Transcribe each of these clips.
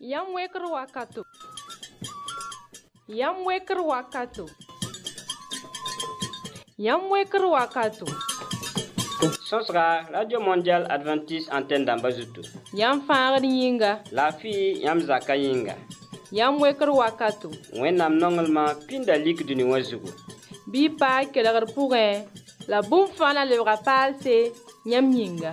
Yam weker wakato. Yam weker wakato. Yam weker wakato. Sosra Radio Mondial Adventiste Antenne d'Ambazutu. Yam faŋar yinga. La fi yam zaka yinga. Yam weker wakato. Wẽnnaam nonglema pĩnda lik dũni wã zugu. Bɩ paa kelgr pʋgẽ la bũmb fãa na lebga paalse yãmb yĩnga.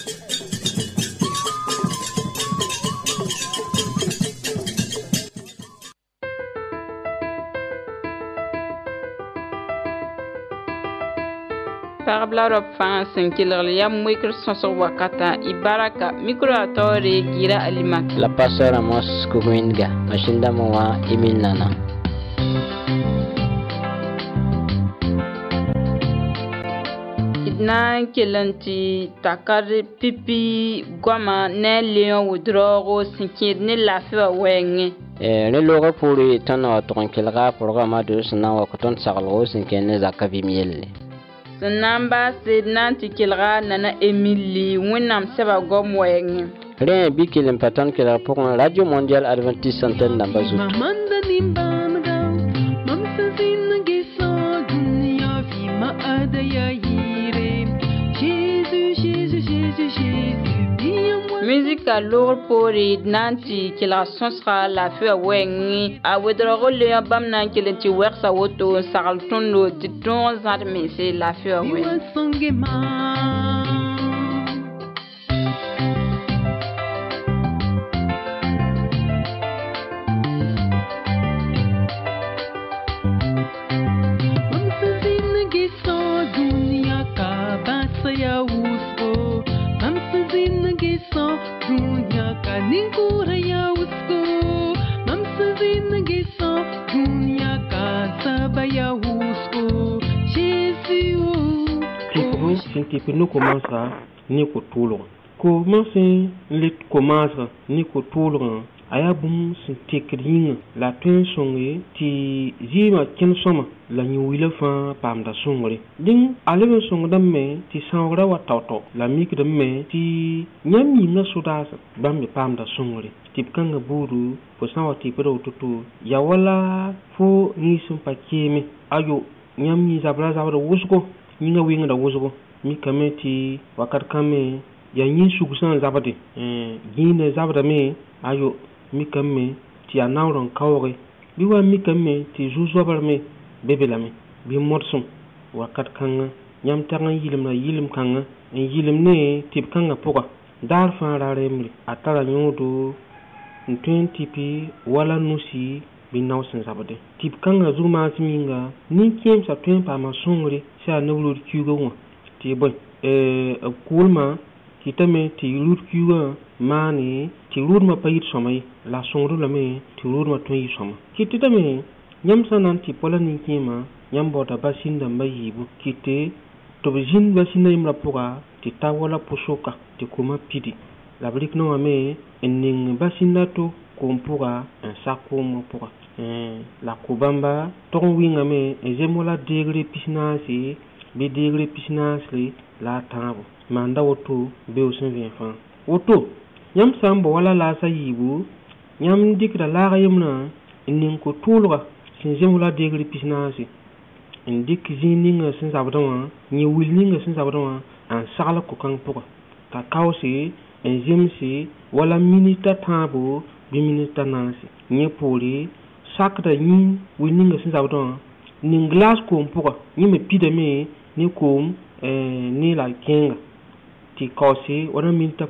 Pagb la rob fãa sẽn kelgl yam wekr sõsg wakata y baraka mikro a taoore gira alimak la pastor Amos Kuminga mashinda mowa Emil Nana na kelanti takar pipi goma ne leon wudrogo sinkid ne lafiya wenge ne loga puri tana ton kelga programa de sna wa koton sagalgo sinkene zakavi mielle sanamba sednanti kelga nana Emily winam seba gom wenge re bi kelen patan kelga pour Radio Mondial Adventiste Antenne d'Ambazout mamanda nimbamga mamsazin gesa dunya fi ma adaya musique à lourd pour nanti qui la sonsra la feu wengi a wedro le bam nan qui le ti wersa woto saral tondo ti ton zarme c'est la feu wengi que nous commençons ni ko toulon commencer le commence ni ko toulon aya bum sin tekrin la tun songe ti zima ken soma la ni wila fa pam da songre ding alebe song da me ti sangra wa tawto la mik da me ti nyam yi na sudas bam mi pam da songre tip kanga buru po sanwa ti pero tutu ya wala fo ni sum pa keme ayo nyam yi zabra zabra wusko ni nga winga da wusko mi kameti wakat kame ya yin sugusan zabade gine zabada me ayo mi kame ti anawron kawre biwa mi kame ti juzo barme bebela me bi morsum wakat kanga nyam tanga yilim na yilim kanga en yilim ne tip kanga poka dar fa raremri atara nyodo 20 pi wala nusi bi nawsen zabade tip kanga zuma siminga ni kiem sa tuen pa ma songre sa nawlo kyugo wa ti boy kulma kitame ti lut kyuga mani ti lut ma payit somay la songru la me ti lut ma toyi soma kitame nyam sanan ti pola ni kima nyam bota basinda mayibu kite to bijin basinda imra poka ti tawala pusoka ti kuma pidi la brik no ame enning basinda to kompuga en sakomo poka la kubamba ton winga me ezemola degre pisnasi bi degre pisnasli la tabo manda woto be osin vien fan woto nyam sambo wala la sayibu nyam dikra la gayemna nin ko tulga sin zemola degre pisnasi indik zininga sin sabdama ni wilninga sin sabdama an sagala ko kan poka ka kawsi en zemsi wala minita tabo bi minita nasi ni poli sakda ni wilninga sin sabdama ni glass ko poka ni me pidame ni kom ni la kenga ti kosi wana minta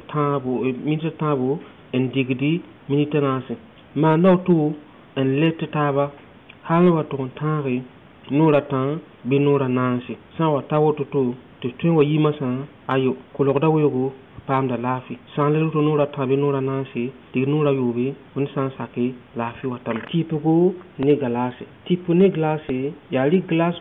tabo en digdi minita nasi ma nautu en lette taba halwa ton tare nora tan bi nora nasi sa wa tawoto to tun wa yima san ayo kologda wogo pam da lafi san le to nora tan bi nora nasi ti nora yobe on san sake lafi watam tipo ne galase tipo ne glase ya li glace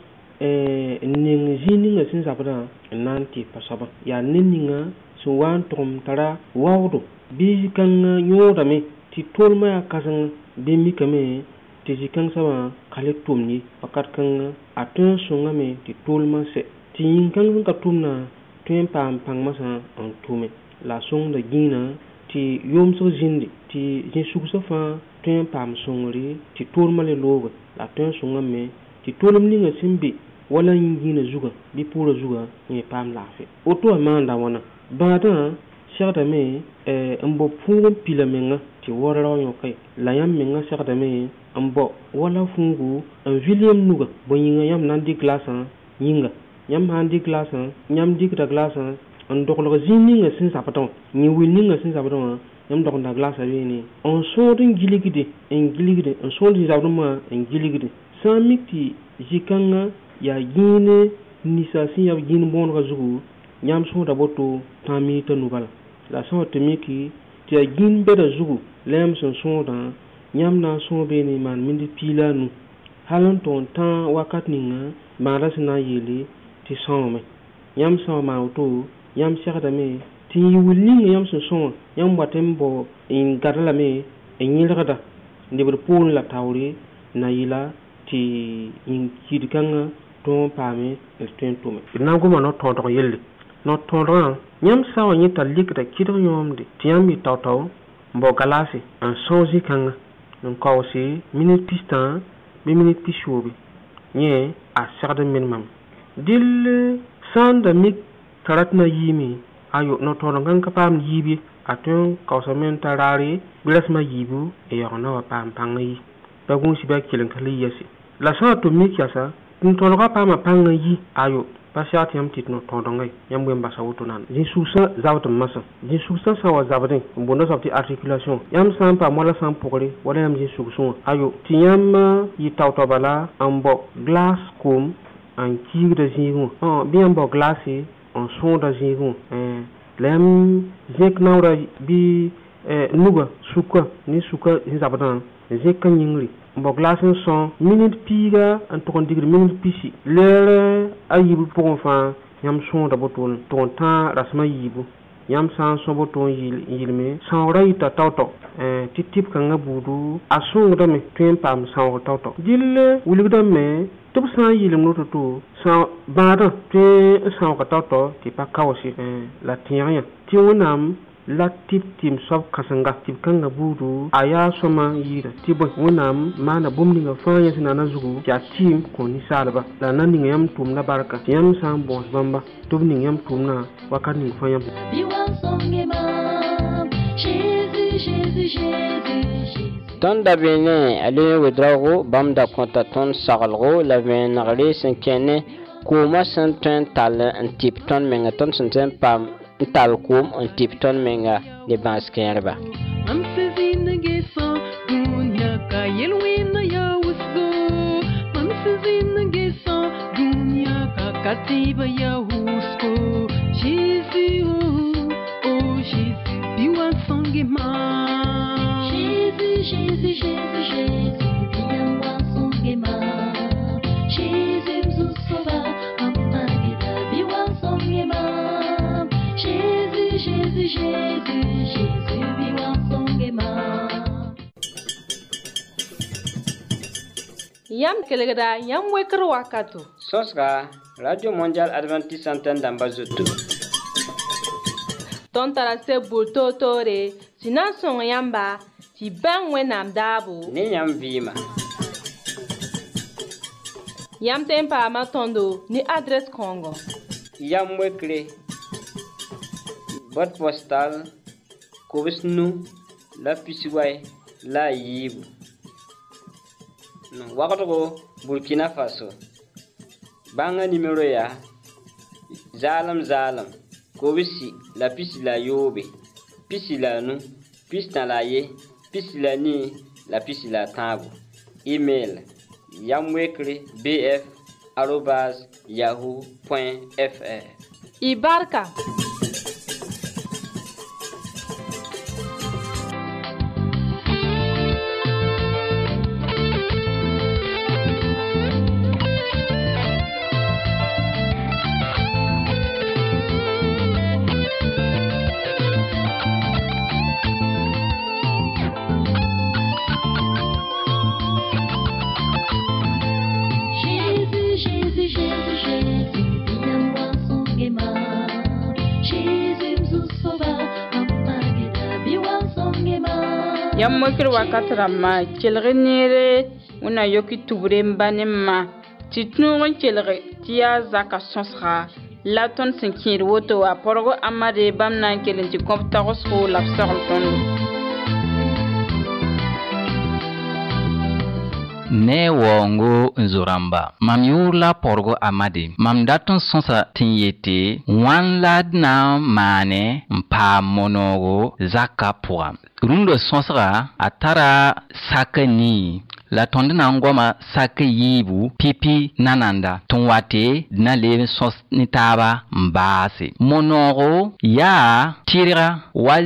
ning zininga sin sabada nanti pasaba ya ninninga so wan tom tara wawdo bi kan nyoda me ti tolma ya kasan bi mi kame ti jikan sama kale tumni pakat kan atun sunga me ti tolma se ti kan ka tumna tuen pam pang masa on tume la song da gina ti tɩ yʋʋmsg zĩndi tɩ zĩ-sugsã fãa tõe n paam sõngre tɩ tʋʋlmã le loogẽ la tõe n sõngame tɩ tʋʋlem ninga sẽn be wala yĩngĩinã zugã bɩ pʋʋrã zugã yẽ paam laafɩ woto wã maanda wãna bãadã segdame n bo pũug n pila menga tɩ warao yõke la yãmb menga segdame n bo wala fũugu n vil yãmb nuga bõe yĩnga yãmb na n dɩk glaasã yĩnga yãmb sã n dɩk glaasã yãmb dɩkda glaasã n doglg zĩig ninga sẽn zabdẽ wã yẽ wil ninga sẽn zabdẽ wã yãmb dogda glaasã beene n sõod n gilgde n sõod zĩ-zabdmã n gilgde sã n mik tɩ zĩ-kãngã yaa gĩine ninsã sẽn yaa gĩin bõonegã zugu yãmb sõoda boto 5 minita nu bala la sã n wa tɩ miki tɩ yaa gĩin bɛda zugu la yãmb sẽn sõodã yãmb na n sõog beene maan minit piila a nu hal n tʋg n tã wakat ninga maada sẽn na n yeele tɩ sõome yãmb sã n wa maan woto yãmb segdame tɩ n yɩ wil ninga yãmb sẽn sõa yãmb wat n bao n gada lame n yẽlgda lebd poorẽ la taoore na yɩla tɩ yĩn kid-kãngã tõog n paame d tõe n tʋme d na n goma no-tõodg yelle no-tõodgã yãmb sã n wa yẽ t'a likda kɩdg yõomde tɩ yãmb yɩ tao-tao n bao galaase n sõog zĩ-kãngã n kaoose minit pis-tã bɩ minit pis-yoobe yẽ a segd n menemame dɩll sã n da mik t'a rat na yiime ayo no-tõodg ka paam yiib ye a tõe n kaoosame n ta raare bɩ rasmã yiibu n yaoog na wa paam pãngã yi pa gũusi bɩ a keleng ka le yɛse la sã n tʋm mik yasa n-tõodgã paama pãngã yi ayo pa segd tɩ yãmb tɩ no-tõodgã yãmb ween basa woto nana zĩ-sugsã zabd n masã zĩ-sugsã sã n wa zabdẽ n boonda soab tɩ articulation yãmb sã n paam wala sã n pʋgre wala yãmb zĩ-sugsẽ wã ayo tɩ yãmb yɩ tao-tao bala n bao glaas koom n kiigda zĩigẽ wã bɩ yãmb bao glaase n sõoda zĩigẽ wã la yãmb zẽk naoora bɩ nuga sukã ne sukã sẽn zabdã zẽkã yĩngre n bao glaas n sõ minit piiga n tʋg n digd minit pisi leer a yiib pʋgẽ fãa yãmb sõoda boto tʋg n tã rasmã yiibu yãmb sã n sõ boto n yɩlme sãoogra yɩta tao-tao tɩ tɩb-kãngã buudu a sõngdame tõe n paam sãoog tao-tao dɩll wilgdame tɩ b sã n yɩlem noto bãadã tõe n sãoog tao-tao tɩ pa kaoose la tẽeg yã tɩ wẽnnaam la tɩb tɩm soab kãsenga tɩb-kãngã buudu a yaa sõma yɩɩda tɩ bõe wẽnnaam maana bũmb ninga fãa yẽ sẽn na n zugu tɩ a tɩɩm kõ ninsaalba la na ning yãmb tʋʋmda barka tɩ yãmb sã n bõos bãmba tɩ b ning yãmb tʋʋmdã wakat ning fãa yãmb tõnd da beene a le wedraoogo bãmb da kõta tõnd saglgo la vẽenegre sẽn kẽne koomã sẽn tõe n tall n tɩp tõnd menga tõnd sẽn tõe n paam n tall koom n tɩp tõnd menga ne bãas kẽerba Mam sezinge sa dunya ka yelwina ya usgo. Mam sezinge sa dunya ka katiba ya usko. Jésus, oh Jésus, biwa songe ma. Jésus, biwa songe ma. Jésus, Zusova, amageda biwa songe ma. Jésus, biwa songe ma. Yam kelegda yam wekr wakato. Sõsga Radio Mondial Adventiste Antenne dãmba zoto. Tõnd tara seb bʋʋr toor-toore tɩ na n sõng yãmba tɩ bãng wẽnnaam daabo. Ne yãmb vɩɩma. Yãmb tõe n paama tõndo ne adrɛs kãongo. Yam wekre. Boîte postale Kobs Nu la Pisiway la Yiibu. Wagdgo Burkina Faso. Bãngã numéro yaa Zaalem Kobsi la Pisi la Yoobe. Pisi la Nu, Pisi la Ye, Pisi la Ni, la Pisi la Tãago. Email yamwekre bf@yahoo.fr. Y barka. Yam mokir wakat rama kelgre nere una yoki tubre mbane ma titnungon kelgre tia zaka sonsra la ton sinkir woto a porgo amade bamna kelen ti komptagos ko la sorol ton ne wongo nzoramba mam yurla porgo amade mam daton sonsa tinyete wan lad na mane mpa monogo zaka poa rundo sonsra atara sakani la tonde na ngoma sake yibu pipi nananda tonwate na lebe sos nitaba mbase monogo ya tira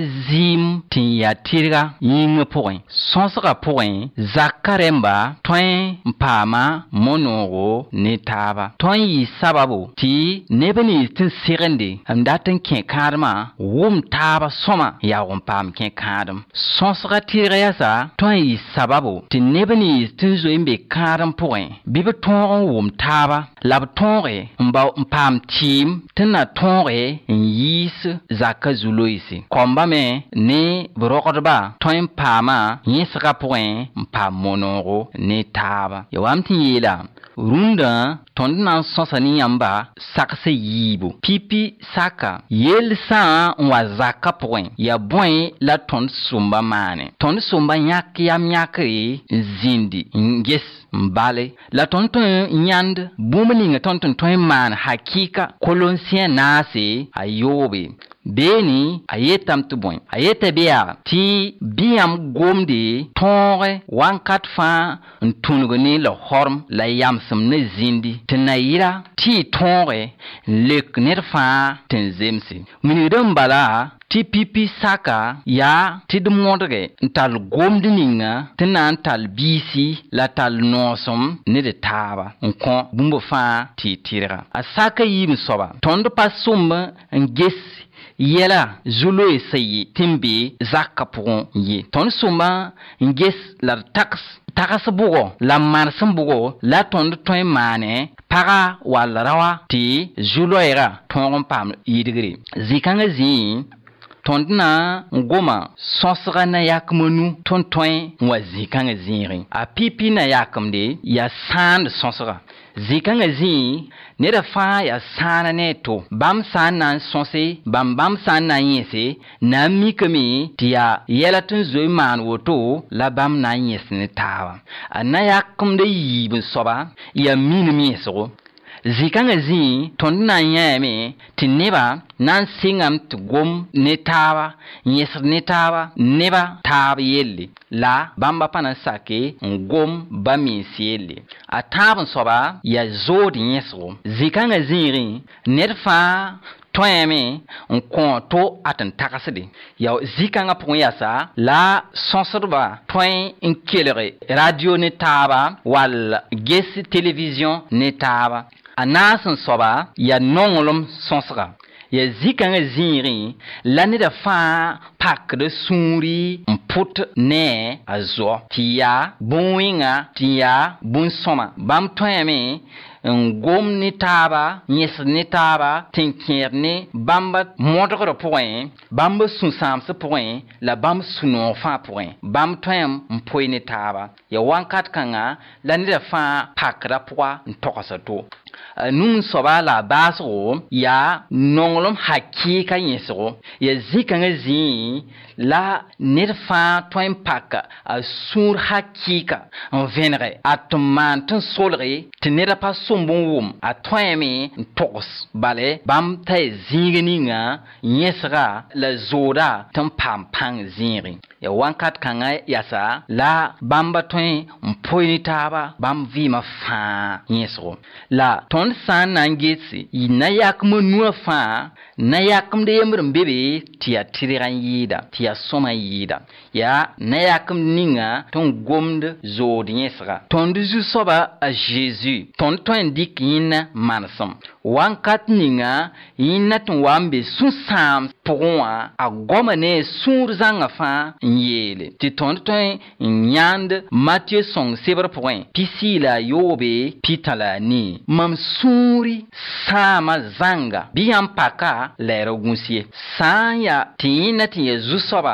wazim tin ya tira yinga point sonsra point zakaremba toin mpama monogo nitaba toin yi sababu ti nebeni tin sirende amdaten ken karma wum taba soma ya wompam ken kadam sonsra tira yasa toin yi sababu ti nebeni tin zo imbe karam point bibe ton wum taba lab tonre mba mpam tim tena tonre yis zaka zuloisi komba me ne brokodba ton pama yisra point mpa monoro ne taba yawamti yela runda tondna sonsani yamba sakse yibo pipi saka yel sa wa zaka point ya boy la ton sumba mane ton sumba nyak yam nyakri zindi nges mbale la tonton nyand bumning tonton toy man hakika kolonsien nasi ayobe beni ayetam tu boy ayeta biya ti biam gomde tonre wankat fa ntunugni la horm la yamsum ne zindi tinayira ti tonre lek nerfa tenzemsi minidam bala ti pipi saka ya ti de mondre ntal gomde ninga tinan tal bisi la tal nosom ne de taba nkon bumbo fa ti tira asaka yim soba tondo pasumba ngesi yela zulo esayi timbi zakapon ye ton suma nges la tax bugo la marsum bugo la ton toy mane para wala rawa ti zulo era ton pam yidigri zikanga zi tondna ngoma sonsra na yakmonu tontoin wa zikanga ziri a pipi na yakamde ya sand sonsra zikanga zi ne da fa ya sana ne to bam sana sonse bam sana yese na mikami tia yelatun zoy man woto la bam na yesne tawa ana yakamde yibun soba ya minimi so zikanga zi tondna yame tineba nan singam tu gom netaba yesr netaba neba tab yelle la bamba pana sake ngom bami sielle atabun soba ya zodi yesro zikanga ziri nerfa toyame nkon to atan takasde ya zikanga pon yasa la sonsorba toy inkelere radio netaba wal gesi television netaba anasan soba ya nongolom sonsra ya zikanga ziri lani da fa pak de suri mput ne azo tia buinga tia bun soma bam toyame ngom ni taba nyes ni taba tinkier ni bamba modre point bamba sunsam se point la bam suno fa point bam toyam mpoi ni taba ya wankat kanga lani da fa pak ra poa ntokasa to nun soba la baso ya nonglom hakika yesro ya zikanga zi la nerfa toin paka a sur hakika en venre atman ton solre tenera pas sombon wum a toime tos bale bam tay zingeninga yesra la zoda ton pam pang zinri ya wankat kanga yasa la bamba toin mpoini taba bam vima fa yesro la ton san nangesi inayak monua fa nayakum de yemrum bebe tia tiriran yida tia soma yida ya nayakum ninga ton gomde zodi yesra ton du soba a Jésus ton ton dik yin mansam wankat ninga yin ton wambe susam pourwa a goma ne sur zanga fa yele ti ton ton nyand Matthieu song sever point pisila yobe pitala ni mam suri sama zanga biam paka lero gunsie sanya tina ti Yesu soba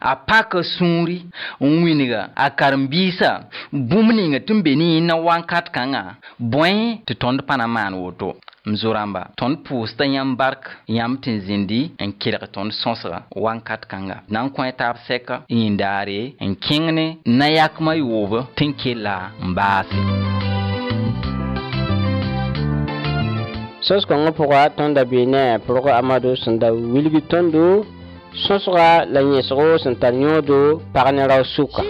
a pak sũuri n wĩnga a karen-biisa bũmb ninga tɩ n be ne yẽnna wãnkat kãngã bõe tɩ tõnd pa na maan woto m zo-rãmba tõnd pʋʋsta yãmb bark yãmb tɩ n zĩndi n kelg tõnd sõsga wãnkat kãnga na n kõ taab sɛka yĩndaare n kẽng ne na yakmã yoob tɩ n kella n baase sõs-kõngã pʋga tõnda bee ne pʋrg amado sẽn da wilgi tõndo sõsga la yẽsgo sẽn tar yõodo pag ne rao sʋka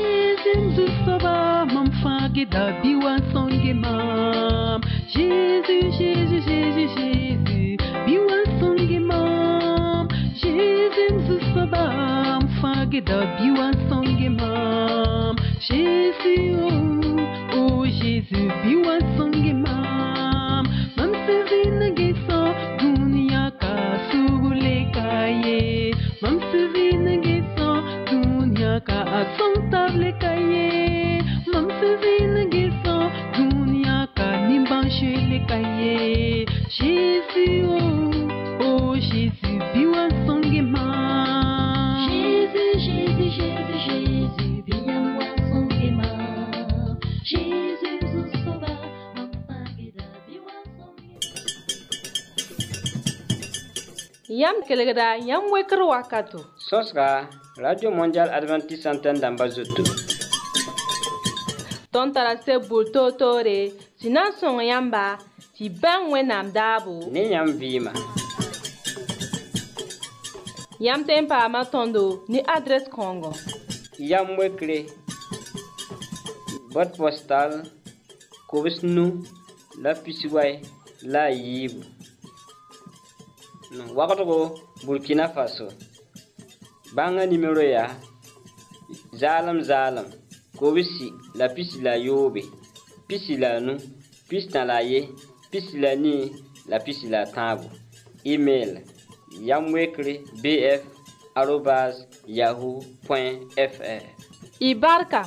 Jésus, Jésus, Jésus, Jésus, biwa songe mam. Jésus, sabam, fageda biwa songe mam. Jésus, oh, oh Jésus, biwa songe mam. Mam sevina gesa, dunia ka sugule kaye. Mam sevina gesa, dunia ka asantable kaye. Mam sevina gesa, dunia ka nimbanche le kaye. Jésus, oh, oh Jésus, biwa songe mam. Jésus, Jésus, Jésus, Jésus, biwa songe mam. Jésus, nous sauva, maman geda biwa songe. Yam kelgda yam wekr wakato. Sõsga Radio Mondial Adventiste Antenne dãmba zoto. Tõnd tara se bul-toor-toore tɩ na n sõng yãmba tɩ bãng wẽnnaam daabo ne yãmb vɩɩma. yãmb tõe n paama tõndo ne adrɛs kõongo Yam wekre boîte postale kobs nu la pisway la a yiibu wagdgo Burkina Faso. Bãngã nimero yaa zaalem kobsi la pisi la yoobe pisi la nu pisi tã la ye pisi la nii la pisi la tãago. Email yamwekre bf@yahoo.fr. y barka.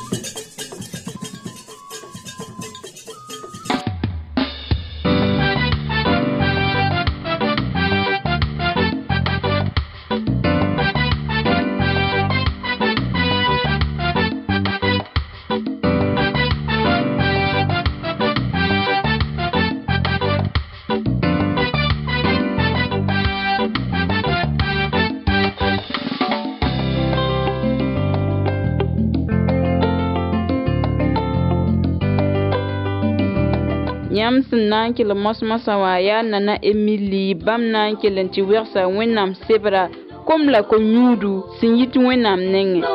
Yam sẽn na n kell mos-mosã wã yaa nana Emily bãmb na n kell n tɩ wɛgsa Wẽnnaam sebra kom la ko-yũudu sẽn yit Wẽnnaam nengẽ.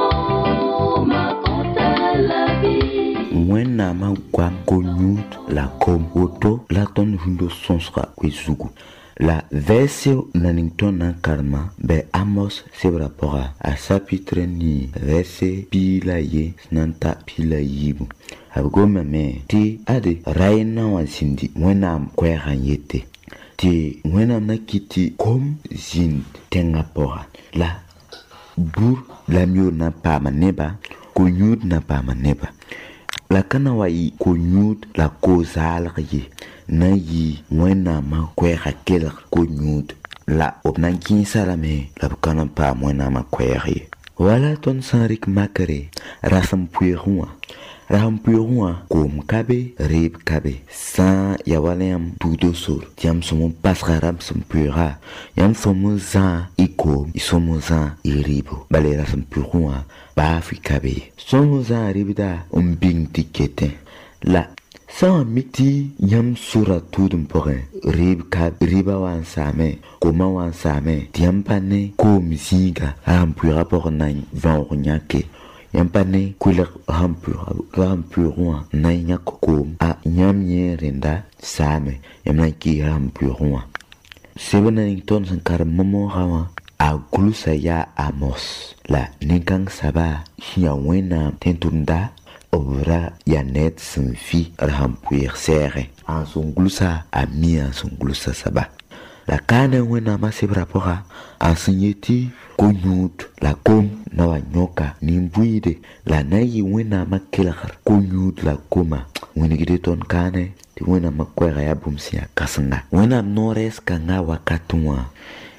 Wẽnnaamã goam ko-yũud la kom woto la tõnd vũndo sõsga koe-zugu. La verse naning tõnd na n karema bɩ Amos sebra pʋga a chapitre ni verse pii la ye sẽn na n ta pii la yiibu. B gomame tɩ ade raɩnnã wã zĩndi Wẽnnaam koɛɛgã n yete tɩ Wẽnnaam na kɩ tɩ kom zĩnd tẽngã pʋga la bur la mioor na n paama neba ko-yũud na n paama neba la ka na wa yɩ ko-yũud la ko-zaalg ye na n yɩ Wẽnnaamã koɛɛgã kelg ko-yũud la b na n kẽesa lame la b ka na n paam Wẽnnaamã koɛɛg ye. Wala tõnd sã n rɩk makre rasem pueegẽ wã Raham puerua kom kabe rib kabe sa ya walem tudo sur tiam somo pasgaram som puera yam somo za ikom isomo za iribo balera som puerua ba fi kabe somo za ribida bing tikete la sa miti yam sura tudum pore rib kab riba wan same koma wan same tiam pane kom zinga raham puera por nan van nyake yampane kulak rampurua na nyakom a nyamye renda same yamna ki rampurua sebana ton sankar momo hawa a gulusa ya Amos la ninkang saba ya wena tentunda obra ya net sanfi rampuer serre en son gulusa a mi en son gulusa saba la kana wena masebra pora enseigner ko-yũud la kom na wa nyoka nimbuide la na yɩ Wẽnnaamã kelgr ko-yũud la koma wẽnegde tõnd kaane tɩ Wẽnnaamã koɛɛga yaa bũmb sẽn yaa kãsenga. Wẽnnaam noorɛɛs kãngã wakatẽ wã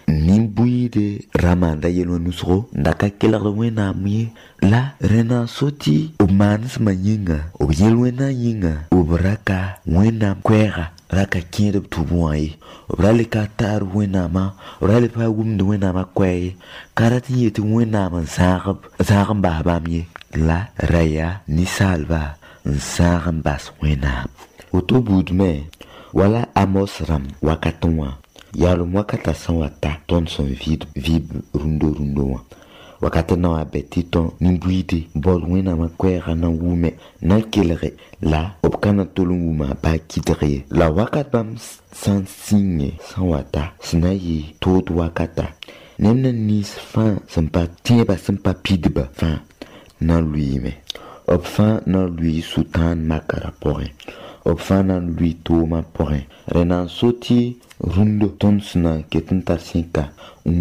nimbuide ramanda yelo nusro ndaka kelar wena mi la rena soti o manis manyinga o yelwena yinga o braka wena kwera raka kinde tubuai o brale katar wena ma o brale pa gum wena ma kwai karati yeti wena ma zagam baba mi la raya ni salva zagam bas wena oto budme wala amos ram wakatonwa yalo mwakata sanwata ton son vib rundo wakati na wabeti ton nimbuide bol wena makwera na wume na kelere la opkana tolunguma ba kidre la wakat bam san signe sanwata sinayi tot wakata nemna nis fan sampa tieba sampa pidba fan na lui me op fan na lui sultan makara porin op fan na lui toma porin renan soti rundo tonsna ketentar sinka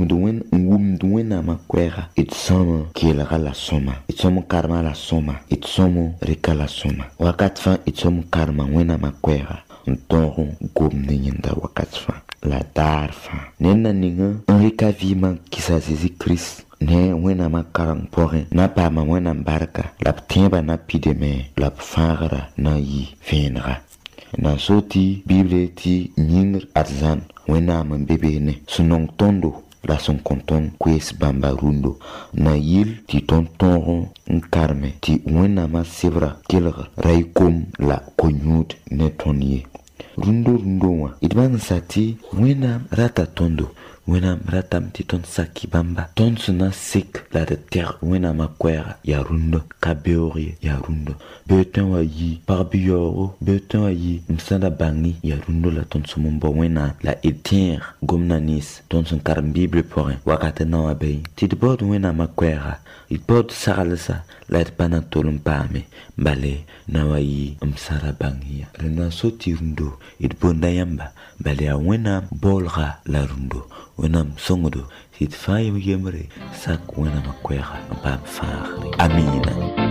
umduwen makwera itsoma kiela la soma itsomo karma la soma itsomo reka la soma wakat fan itsomo karma wena makwera ntongo gomne nyenda wakat fan la darfa nena ninga enrika vima kisa Jésus Christ ne wena makarang porin na pa ma wena barka la ptimba na pideme la fangara na yi venra na soti bible ti nyingr arzan wena man bebe ne sunong tondo la son konton kwes bamba rundo na yil ti tonton nkarme ti wena ma sevra kelra raikom la konyut ne tonye rundo wa idban sati wena rata tondo wena ratam ti ton saki bamba ton suna sik la de terre wena makwera ya rundo kabeori ya rundo beton wa yi parbioro beton wa yi msanda bangi ya rundo la ton sumombo wena la etir gomnanis ton sun karam bible porin wakate na wa bay ti bod wena makwera it bod saralsa la de panatolum pame bale na wa yi msara bangi rena soti rundo it bonda yamba bale a wena bolra la rundo wenam songodo sit faye yemre sak wena makwera bam far amina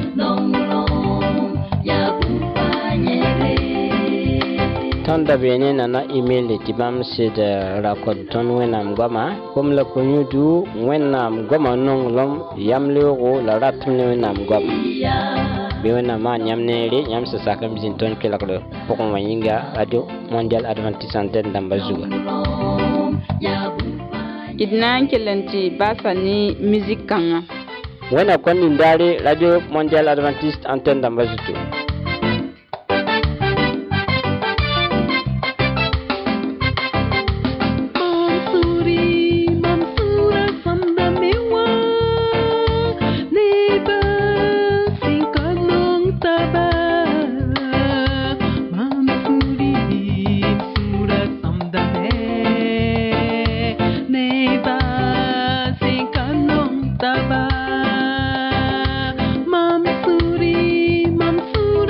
Tanda bene nana email ti bam sid rakod ton wenam goma kom la konyudu wenam goma nong lom yamlego la ratne wenam goma be wenam ma nyamne re nyam sa sakam bizin ton kelaklo pokon wanyinga radio mondial adventiste antenne dambazuga idnan kelenti basani musique kanga wena kon ndare radio mondial adventiste antenne dambazuto Mamsuri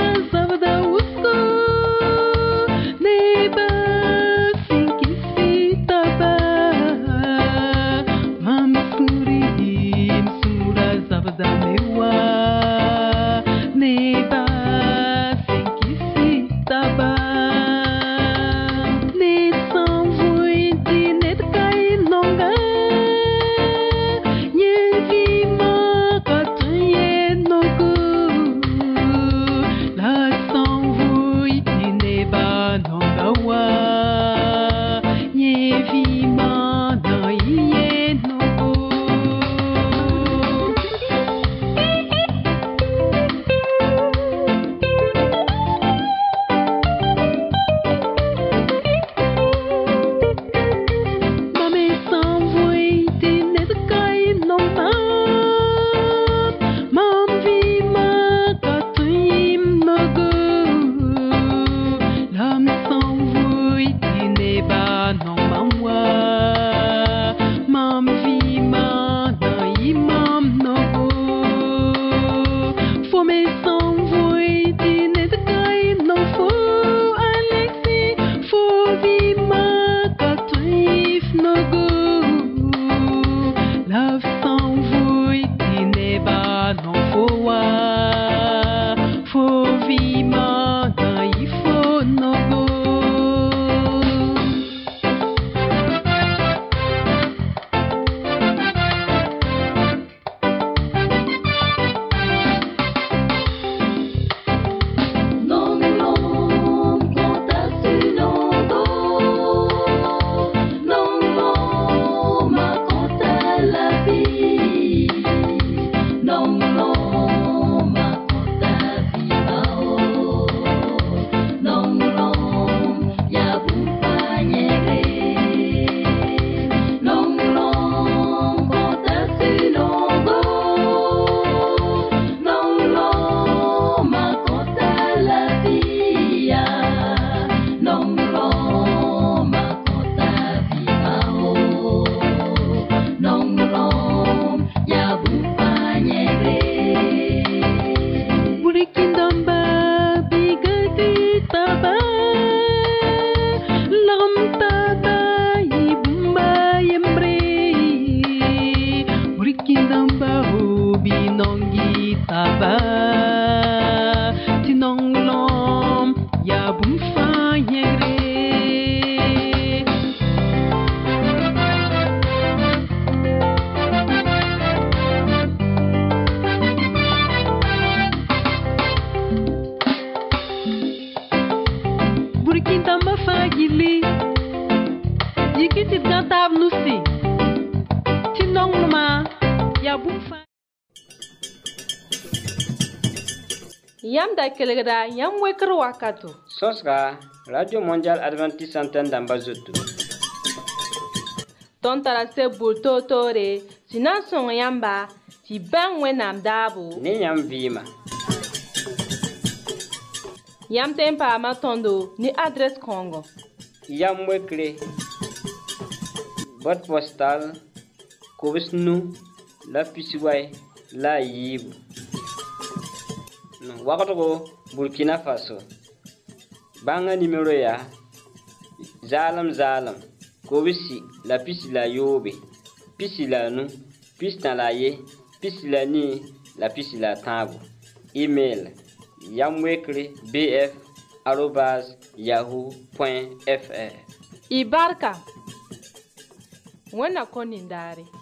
nongi taba tinonglom ya bumfa yere burkinta mafagili yikiti gantab nusi tinongloma ya bumfa yam da kelgda yam wekr wakato Sosra, Radio Mondial Adventiste Antenne d'Ambazotou. ton tara se bulto tore sinan son yamba ti ban wenam dabo Ne yam vima. yam tempa ma tondo ni adresse kongo Yam wekre. Boîte postale. Kobisnu. La Pisiway. La Yib. Wakato Burkina Faso. Banga numéro ya. Zalam. Kobisi. La Pisi la Yobe. Pisi la nu. Pisi na la ye. Pisi la ni. La Pisi la tango. Email. Yamwekre bf@yahoo.fr. ibarka wena konindare